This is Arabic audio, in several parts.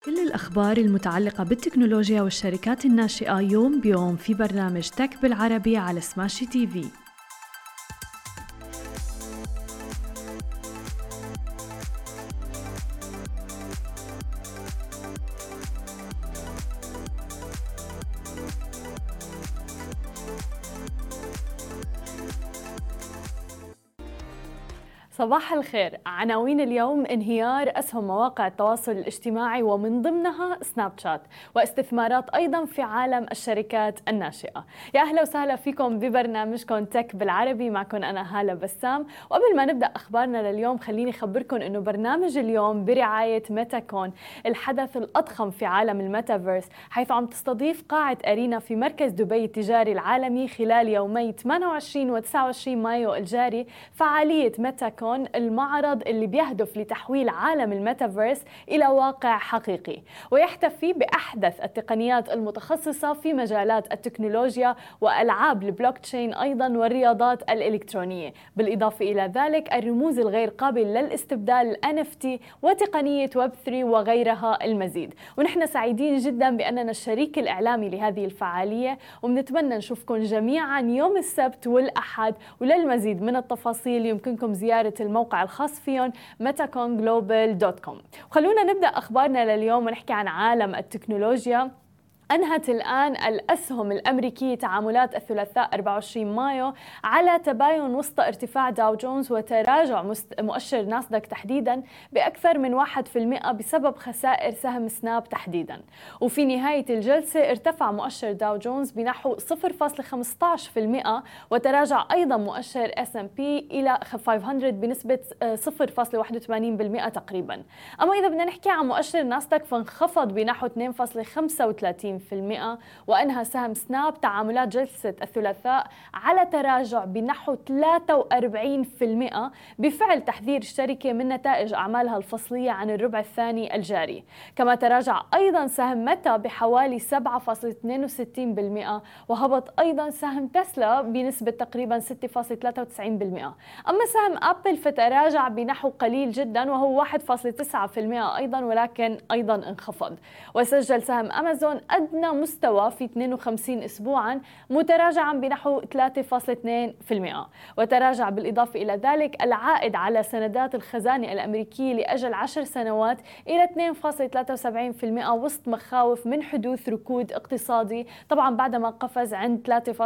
كل الأخبار المتعلقة بالتكنولوجيا والشركات الناشئة يوم بيوم في برنامج تك بالعربي على سماشي تي في. صباح الخير. عناوين اليوم: انهيار أسهم مواقع التواصل الاجتماعي ومن ضمنها سناب شات، واستثمارات أيضا في عالم الشركات الناشئة. يا أهلا وسهلا فيكم ببرنامجكم تك بالعربي، معكم أنا هالة بسام. وقبل ما نبدأ أخبارنا لليوم خليني أخبركم أنه برنامج اليوم برعاية ميتاكون، الحدث الأضخم في عالم الميتافيرس، حيث عم تستضيف قاعة أرينا في مركز دبي التجاري العالمي خلال يومي 28 و 29 مايو الجاري فعالية ميتاكون، المعرض اللي بيهدف لتحويل عالم الميتافيرس إلى واقع حقيقي، ويحتفي بأحدث التقنيات المتخصصة في مجالات التكنولوجيا وألعاب البلوكتشين أيضا والرياضات الإلكترونية، بالإضافة إلى ذلك الرموز الغير قابل للاستبدال NFT وتقنية ويب 3 وغيرها المزيد. ونحن سعيدين جدا بأننا الشريك الإعلامي لهذه الفعالية، وبنتمنى نشوفكم جميعا يوم السبت والأحد. وللمزيد من التفاصيل يمكنكم زيارة الموقع الخاص فيهم metaconglobal.com. وخلونا نبدأ أخبارنا لليوم ونحكي عن عالم التكنولوجيا. أنهت الآن الأسهم الأمريكية تعاملات الثلاثاء 24 مايو على تباين وسط ارتفاع داو جونز وتراجع مؤشر ناسداك تحديدا بأكثر من 1% بسبب خسائر سهم سناب تحديدا. وفي نهاية الجلسة ارتفع مؤشر داو جونز بنحو 0.15%، وتراجع أيضا مؤشر S&P إلى 500 بنسبة 0.81% تقريبا. أما إذا بدنا نحكي عن مؤشر ناسداك فانخفض بنحو 2.35%، وأنهى سهم سناب تعاملات جلسة الثلاثاء على تراجع بنحو 43% بفعل تحذير الشركة من نتائج أعمالها الفصلية عن الربع الثاني الجاري. كما تراجع أيضا سهم ميتا بحوالي 7.62%، وهبط أيضا سهم تسلا بنسبة تقريبا 6.93%. أما سهم أبل فتراجع بنحو قليل جدا وهو 1.9% أيضا، ولكن أيضا انخفض. وسجل سهم أمازون أدنى مستوى في 52 أسبوعا متراجعا بنحو 3.2%. وتراجع بالإضافة إلى ذلك العائد على سندات الخزانة الأمريكية لأجل 10 سنوات إلى 2.73% وسط مخاوف من حدوث ركود اقتصادي، طبعا بعدما قفز عند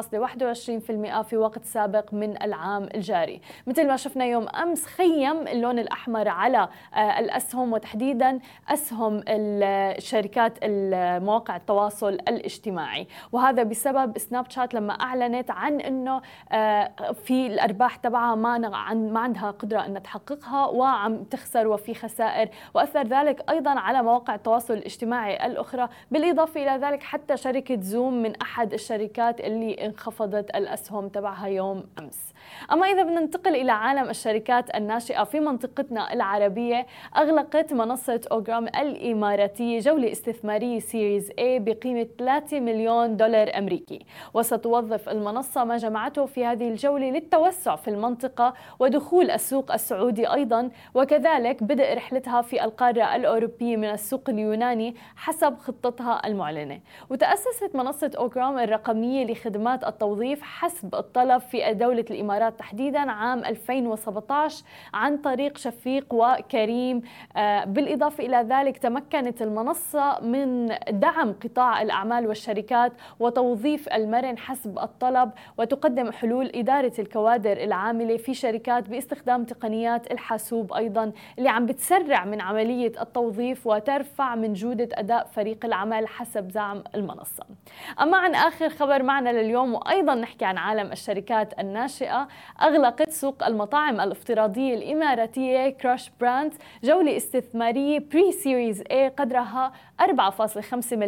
3.21% في وقت سابق من العام الجاري. مثل ما شفنا يوم أمس خيم اللون الأحمر على الأسهم، وتحديدا أسهم الشركات مواقع التواصل الاجتماعي، وهذا بسبب سناب شات لما أعلنت عن أنه في الأرباح تبعها ما عندها قدرة أن تحققها وعم تخسر وفي خسائر، وأثر ذلك أيضا على مواقع التواصل الاجتماعي الأخرى. بالإضافة إلى ذلك حتى شركة زوم من أحد الشركات اللي انخفضت الأسهم تبعها يوم أمس. أما إذا بدنا ننتقل إلى عالم الشركات الناشئة في منطقتنا العربية، أغلقت منصة أوغرام الإماراتية جولة استثمارية سيريز A بقيمة 3 مليون دولار أمريكي، وستوظف المنصة ما جمعته في هذه الجولة للتوسع في المنطقة ودخول السوق السعودي أيضا، وكذلك بدء رحلتها في القارة الأوروبية من السوق اليوناني حسب خطتها المعلنة. وتأسست منصة أوغرام الرقمية لخدمات التوظيف حسب الطلب في دولة الإمارات تحديدا عام 2017 عن طريق شفيق وكريم. بالإضافة إلى ذلك تمكنت المنصة من دعم قطاع الأعمال والشركات وتوظيف المرن حسب الطلب، وتقدم حلول إدارة الكوادر العاملة في شركات باستخدام تقنيات الحاسوب أيضا اللي عم بتسرع من عملية التوظيف وترفع من جودة أداء فريق العمل حسب زعم المنصة. أما عن آخر خبر معنا لليوم وأيضا نحكي عن عالم الشركات الناشئة، أغلقت سوق المطاعم الافتراضية الإماراتية كراش براندز جولة استثمارية بري سيريز A قدرها 4.5 مليون دولار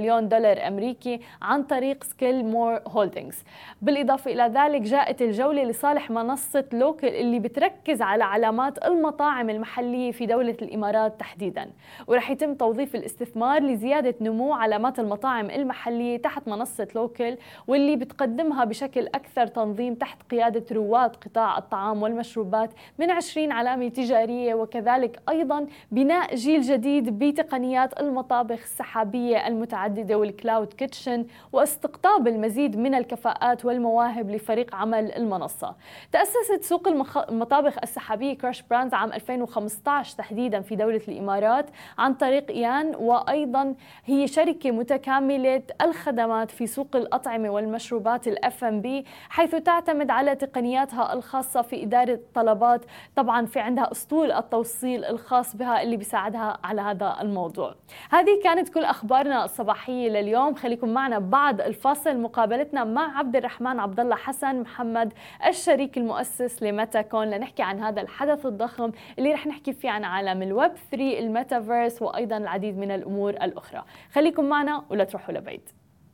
ملياردير أمريكي عن طريق سكيل مور هولدينغز. بالإضافة إلى ذلك جاءت الجولة لصالح منصة لوكل اللي بتركز على علامات المطاعم المحلية في دولة الإمارات تحديداً، ورح يتم توظيف الاستثمار لزيادة نمو علامات المطاعم المحلية تحت منصة لوكل، واللي بتقدمها بشكل أكثر تنظيم تحت قيادة رواد قطاع الطعام والمشروبات من 20 علامة تجارية، وكذلك أيضاً بناء جيل جديد بتقنيات المطابخ السحابية المتعددة والكلاود كيتشن، واستقطاب المزيد من الكفاءات والمواهب لفريق عمل المنصة. تأسست سوق المطابخ السحابية كراش براندز عام 2015 تحديداً في دولة الإمارات عن طريق إيان، وأيضاً هي شركة متكاملة الخدمات في سوق الأطعمة والمشروبات الFMB، حيث تعتمد على تقنياتها الخاصة في إدارة الطلبات. طبعاً في عندها أسطول التوصيل الخاص بها اللي بيساعدها على هذا الموضوع. هذه كانت كل أخبارنا الصباحية لليوم. خليكم معنا بعد الفاصل مقابلتنا مع عبد الرحمن عبد الله حسن محمد الشريك المؤسس لميتاكون لنحكي عن هذا الحدث الضخم اللي رح نحكي فيه عن عالم الويب 3 الميتافيرس وأيضا العديد من الأمور الأخرى. خليكم معنا ولا تروحوا لبعيد.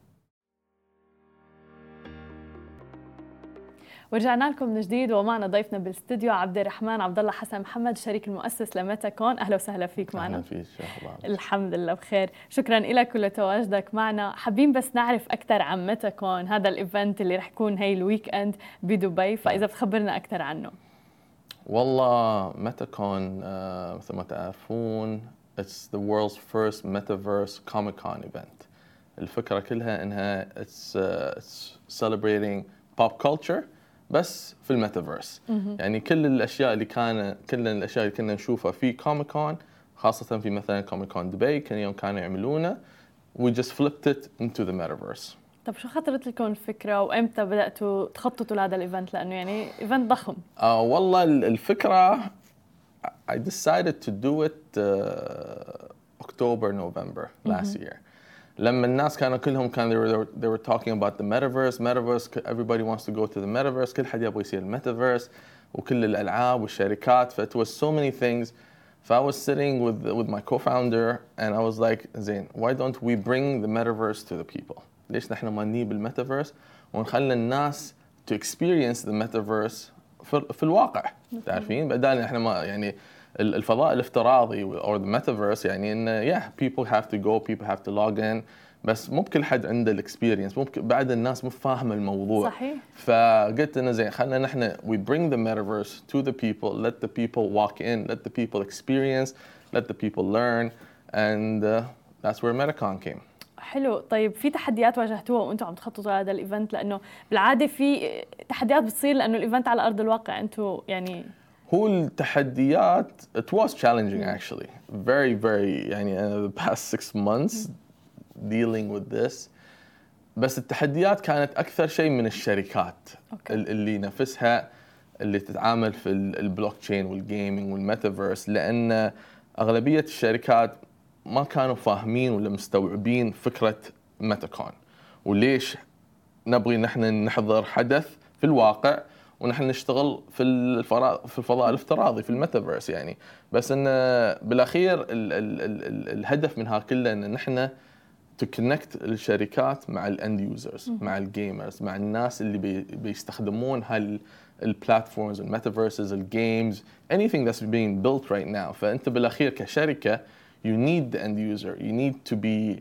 ورجعنا لكم من جديد ومعنا ضيفنا بالاستوديو عبد الرحمن عبد الله حسن محمد الشريك المؤسس لميتاكون. اهلا وسهلا فيك معنا. اهلا فيك. الحمد لله بخير، شكرا لك ولتواجدك معنا. حابين بس نعرف اكثر عن ميتاكون، هذا الايفنت اللي رح يكون هي الويك اند بدبي، فاذا بتخبرنا اكثر عنه. والله ميتاكون مثل ما تعرفون it's the world's first metaverse Comic-Con event. الفكرة كلها انها it's celebrating pop culture بس في الميتافيرس. يعني كل الاشياء اللي كنا نشوفها في كوميكون، خاصة في مثلا كوميكون دبي كانوا يعملونه we just flipped it into the metaverse. طب شو خطرت لكم الفكرة وامتى بدأتوا تخططوا لهذا الايفنت، لأنه يعني ايفنت ضخم؟ والله الفكرة I decided to do it October November last year. لما الناس كانوا كلهم they were talking about the metaverse everybody wants to go to the metaverse، كل حد يبغى يصير الميتافيرس وكل الألعاب والشركات، ف it was so many things. So I was sitting with my co-founder and I was like زين why don't we bring the metaverse to the people؟ ليش نحن ما نجيب الميتافيرس ونخلي الناس to experience the metaverse في الواقع؟ تعرفين بدال احنا ما يعني الفضاء الافتراضي or the metaverse يعني إن people have to go, people have to log in، بس مو بكل حد عنده الاكسبيرينس، ممكن بعد الناس مو فاهمه الموضوع. صحيح. فقلت إنه زين خلينا نحن we bring the metaverse to the people, let the people walk in, let the people experience, let the people learn, and that's where Metacon came. حلو. طيب في تحديات واجهتوها وانتم عم تخططوا لهذا الايفنت؟ لانه بالعاده في تحديات بتصير لانه الايفنت على ارض الواقع، انتم يعني هو التحديات it was challenging actually very يعني the past 6 months dealing with this. بس التحديات كانت أكثر شيء من الشركات اللي نفسها اللي تتعامل في البلوك تشين والجيمينج والميتافيرس، لأن أغلبية الشركات ما كانوا فاهمين ولا مستوعبين فكرة ميتاكون وليش نبغي نحن نحضر حدث في الواقع ونحن نشتغل في الفضاء الافتراضي في الميتافيرس يعني. بس إن بالأخير الهدف منها كله إن نحن to connect الشركات مع الاند يوزرز، مع الجيمرز، مع الناس اللي بيستخدمون هالبلاتفورمز الميتافيرسز الجيمز anything that's being built right now. فأنت بالأخير كشركة you need the end user, you need to be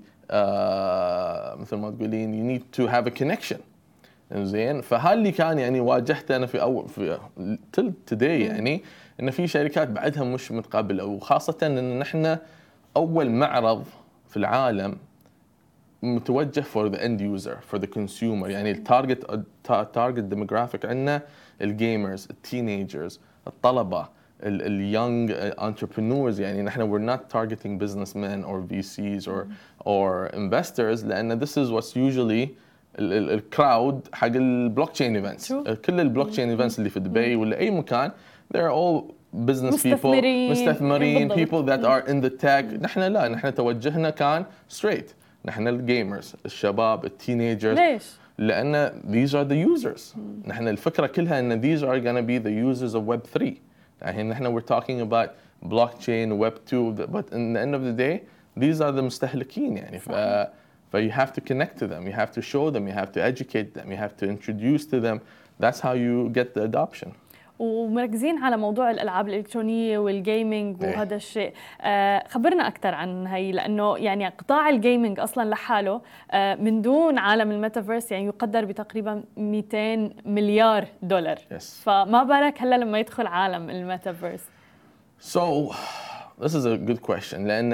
مثل ما تقولين you need to have a connection. زين فهاللي كان يعني واجهته أنا في till today يعني إن في شركات بعدها مش متقبلة، وخاصة إن نحن أول معرض في العالم متوجه for the end user for the consumer، يعني التارجت demographic عندنا الجيمرز، التينيجرز، الطلبة، اليونج entrepreneurs. يعني نحن we're not targeting businessmen or VCs or investors، لأن this is what's usually الكراود حق البلوك تشين ايفنتس. كل البلوك تشين ايفنتس اللي في دبي ولا أي مكان they're all business people مستثمرين people that are in the tech. نحن لا، نحن توجهنا كان straight، نحن الجيمرز، الشباب، التينيجرز. ليش؟ لأن these are the users. نحن الفكرة كلها إن these are gonna be the users of Web3. يعني نحن we're talking about blockchain, Web2, but in the end of the day these are the مستهلكين يعني. So you have to connect to them, you have to show them, you have to educate them, you have to introduce to them. That's how you get the adoption. ومركزين على موضوع الألعاب الإلكترونية والجيمنج وهذا الشيء. خبرنا أكثر عن هي، لأنه يعني قطاع الجيمنج أصلا لحاله من دون عالم الميتافيرس يعني يقدر بتقريبا 200 مليار دولار. فما بالك هلا لما يدخل عالم الميتافيرس. So this is a good question لأن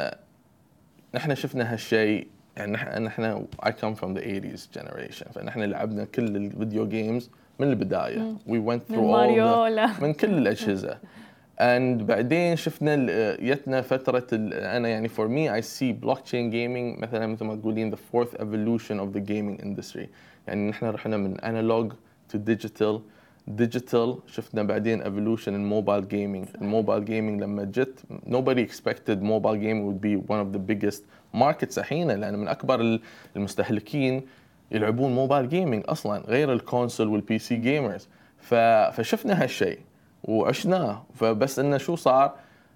نحن شفنا هالشيء. يعني نحن I come from the 80s generation، فنحن لعبنا كل الفيديو جيمز من البداية. We went through all من كل الأجهزة. And بعدين شفنا يتنا فترة أنا يعني for me I see blockchain gaming مثلا مثل ما تقولين the fourth evolution of the gaming industry. يعني نحن رحنا من analog to digital شفنا بعدين evolution in mobile gaming. الموبايل gaming لما جت nobody expected mobile gaming would be one of the biggest markets الحين، لأن من أكبر المستهلكين يلعبون موبايل جيمنج أصلاً غير الكونسول والبي سي جيمرز. فشفنا هالشيء وعشناه. فبس إنه شو صار،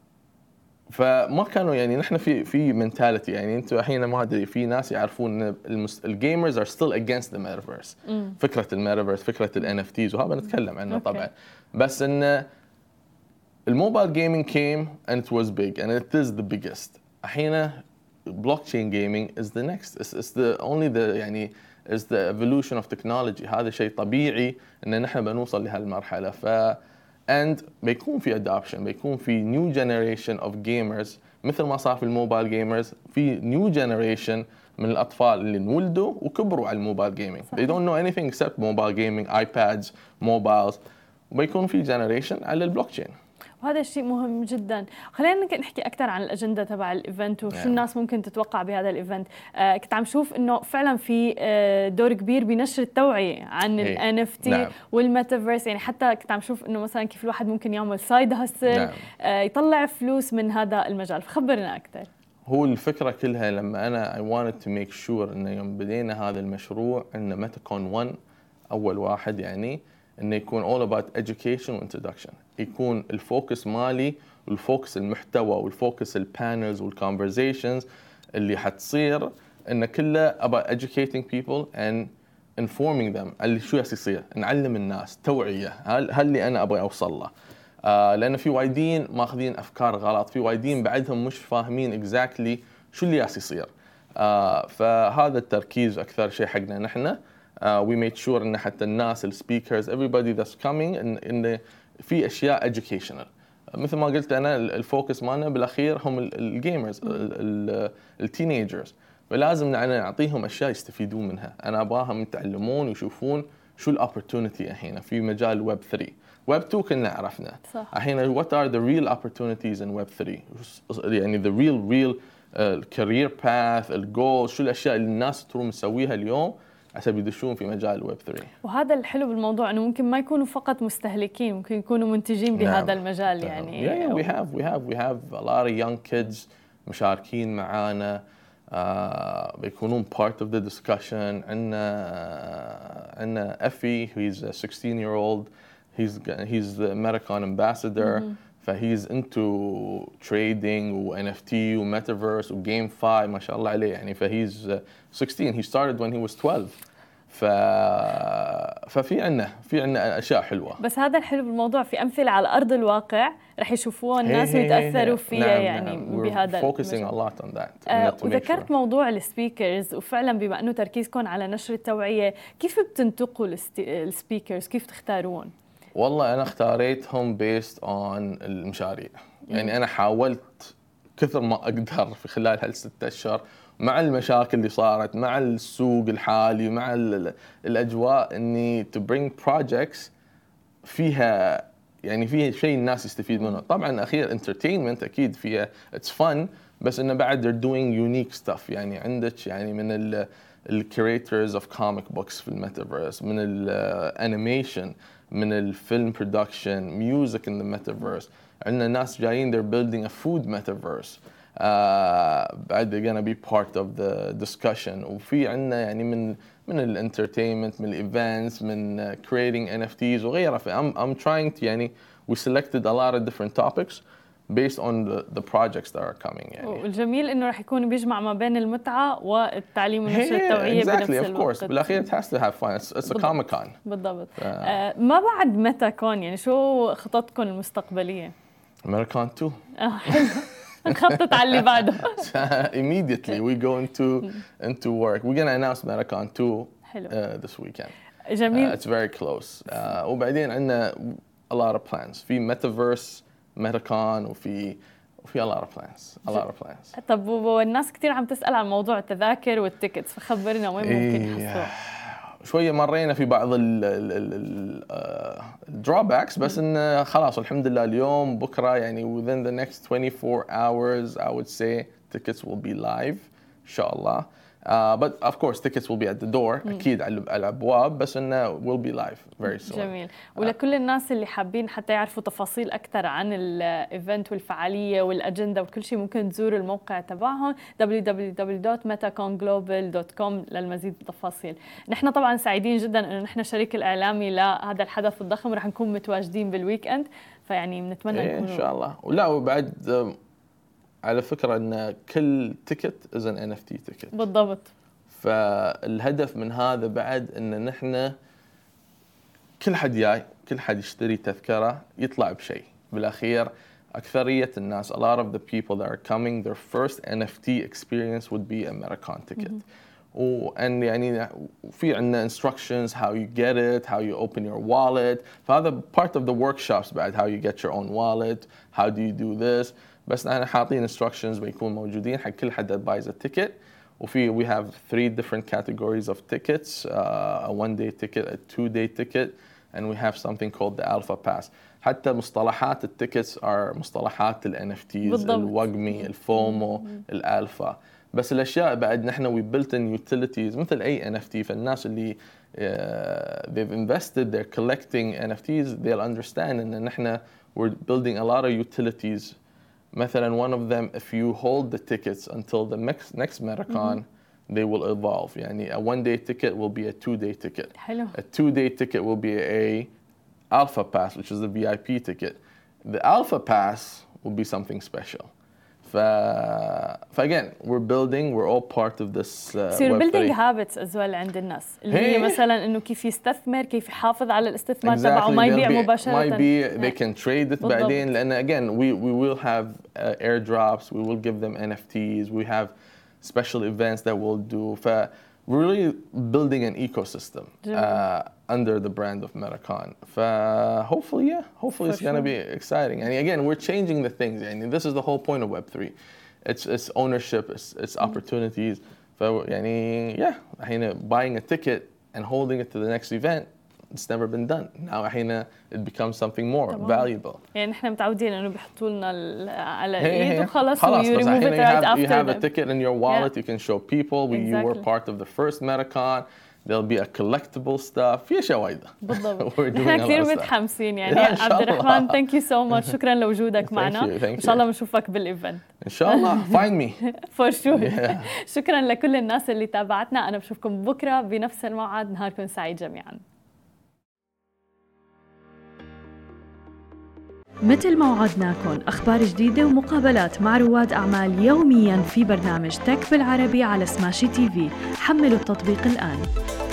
فما كانوا يعني نحن في منتاليتي يعني أنتوا الحين ما أدري في ناس يعرفون إن الجيمرز are still against the metaverse. فكرة الميتافيرس، فكرة ال NFTs وهذا نتكلم عنه طبعاً. بس إنه الموبايل جيمنج came and it was big and it is the biggest. الحين blockchain gaming is the next. It's the only the يعني is the evolution of technology. هذا شيء طبيعي إن نحن بنوصل لهالمرحلة. and بيكون في adoption، بيكون في new generation of gamers مثل ما صار في الموبايل gamers، في new generation من الأطفال اللي انولدوا وكبروا على الموبايل gaming. They don't know anything except mobile gaming, iPads, mobiles. وبيكون في generation على البلوكتشين. وهذا الشيء مهم جدا. خلينا نحكي أكثر عن الأجندة تبع الإيفنت وشو الناس ممكن تتوقع بهذا الإيفنت. كنت عم شوف إنه فعلا في دور كبير بنشر التوعية عن ال NFT والميتافيرس. يعني حتى كنت عم شوف إنه مثلا كيف الواحد ممكن يعمل سايد هاسل يطلع فلوس من هذا المجال. فخبرنا أكثر. هو الفكرة كلها لما أنا I wanted to make sure إنه يوم بدينا هذا المشروع إنه ميتاكون 1 أول واحد يعني إنه يكون all about education و introduction. يكون الفوكس مالي والفوكس المحتوى والفوكس البانلز والconversations اللي حتصير إنه كله about educating people and informing them اللي شو يصير. نعلم الناس توعية هل اللي أنا أبغى أوصل له. لأن في وايدين ماخذين أفكار غلط، في وايدين بعدهم مش فاهمين exactly شو اللي يصير. فهذا التركيز أكثر شيء حقنا نحن. We made sure إن حتى الناس السبيكرز everybody that's coming إن في أشياء educational. مثل ما قلت أنا الفوكس مالنا بالأخير هم الجيمرز التينيجرز، فلازم نعطيهم أشياء يستفيدون منها. أنا أبغاهم يتعلمون ويشوفون شو الopportunity الحين في مجال ويب 3. ويب 2 كنا عرفنا الحين what are the real opportunities in web 3 يعني the real career path الجول، شو الأشياء اللي الناس تروم تسويها اليوم عشان يدشون في مجال الويب 3. وهذا الحلو بالموضوع انه ممكن ما يكونوا فقط مستهلكين، ممكن يكونوا منتجين بهذا المجال. يعني we have a lot of young kids مشاركين معانا بيكونون part of the discussion. عندنا Effie he's a 16-year-old he's the American ambassador. فhe's into trading و NFT و metaverse و GameFi ما شاء الله عليه يعني. فhe's 16 he started when he was 12. ففي عنا أشياء حلوة. بس هذا الحلو بالموضوع في أمثلة على أرض الواقع رح يشوفوها الناس ويتأثروا فيها. يعني بهذا focusing a lot on that. وذكرت موضوع السبيكرز، وفعلا بما أنه تركيزكم على نشر التوعية، كيف بتنتقوا السبيكرز؟ كيف تختارون؟ والله أنا اختاريتهم based on المشاريع. يعني أنا حاولت كثر ما أقدر في خلال هال6 أشهر مع المشاكل اللي صارت مع السوق الحالي مع الأجواء إني to bring projects فيها يعني فيها شيء الناس يستفيد منه. طبعاً أخير entertainment أكيد فيها it's fun، بس إنه بعد they're doing unique stuff. يعني عندك يعني من curators of comic books في الميتافيرس، من الانيميشن، من الفيلم برودكشن، music in the metaverse. عندنا ناس جايين they're building a food metaverse. بعد they're gonna be part of the discussion. وفي عندنا يعني من الانترتينمنت، من الايفنتس، من creating NFTs وغيرها. I'm trying to يعني we selected a lot of different topics based on the projects that are coming يعني. والجميل انه راح يكون بيجمع ما بين المتعه والتعليم ونشر التوعيه بنفس الوقت. بالاخير it has to have fun. It's a Comic Con. بالضبط. ما بعد متى كون يعني شو خططكم المستقبليه؟ ميتاكون 2. حلو. نخطط على اللي بعده. Immediately we go into work. We're gonna announce Metacon 2 this weekend. جميل. It's very close. وبعدين عندنا a lot of plans. في Metaverse Metacon وفي a lot of plans. طب والناس كثير عم تسأل عن موضوع التذاكر والتيكتس، فخبرنا وين ممكن يحصلوا؟ شوية مرينا في بعض الدروباكس بس إنه خلاص الحمد لله اليوم بكرة يعني within the next 24 hours I would say tickets will be live إن شاء الله. But of course tickets will be at the door أكيد على الأبواب بس إنه will be live very soon. جميل. ولكل الناس اللي حابين حتى يعرفوا تفاصيل أكثر عن الإيفنت والفعالية والأجندة وكل شيء ممكن تزوروا الموقع تبعهم www.metaconglobal.com للمزيد من التفاصيل. نحن طبعا سعيدين جدا إنه نحن شريك الإعلامي لهذا الحدث الضخم، رح نكون متواجدين بالويك إند، فيعني بنتمنى إن شاء الله. ولا وبعد على فكرة أن كل تيكت is an NFT تيكت. بالضبط. فالهدف من هذا بعد أن نحن كل حد يشتري تذكرة يطلع بشيء. بالأخير أكثرية الناس a lot of the people that are coming their first NFT experience would be a Metacon ticket. وأن يعني في عندنا instructions how you get it, how you open your wallet. فهذا part of the workshops بعد how you get your own wallet, how do you do this. بس أنا حاطين instructions بيكون موجودين حق كل حد buys a ticket. وفي we have 3 different categories of tickets, a 1-day ticket, a 2-day ticket, and we have something called the Alpha Pass. حتى مصطلحات التيكتس are مصطلحات ال NFTs, الوجمي, الفومو, الألفا. بس الأشياء بعد نحن we built in utilities مثل أي NFT. فالناس اللي they've invested, they're collecting NFTs, they'll understand إن نحن we're building a lot of utilities. مثلا one of them if you hold the tickets until the next Metacon they will evolve. يعني a 1-day ticket will be a 2-day ticket. حلو. A 2-day ticket will be a Alpha Pass which is the VIP ticket. The Alpha Pass will be something special. again we're all part of this يصير building habits as well عند الناس اللي هي مثلا انه كيف يستثمر، كيف يحافظ على الاستثمار تبعه ما يبيع مباشرة. they can trade it بعدين لأن again we will have airdrops, we will give them NFTs, we have special events that we'll do. We're really building an ecosystem under the brand of Metacon. Hopefully it's going to be exciting. And again, we're changing the things. And this is the whole point of Web3. It's ownership, it's opportunities. Buying a ticket and holding it to the next event, it's never been done. Now it becomes something more valuable. يعني نحن متعودين انه بيحطوا لنا على الايد وخلص you remove it right after. You have a ticket in your wallet, you can show people you were part of the first Metacon. There'll be a collectible stuff. في أشياء وايدة. بالضبط. نحن كثير متحمسين يعني عبد الرحمن thank you so much. شكرا لوجودك معنا. إن شاء الله بنشوفك بالإيفنت. إن شاء الله. Find me. For sure. شكرا لكل الناس اللي تابعتنا. أنا بشوفكم بكرة بنفس الموعد. نهاركم سعيد جميعا. مثل ما وعدناكم أخبار جديدة ومقابلات مع رواد أعمال يومياً في برنامج تك بالعربي على سماشي TV. حملوا التطبيق الآن.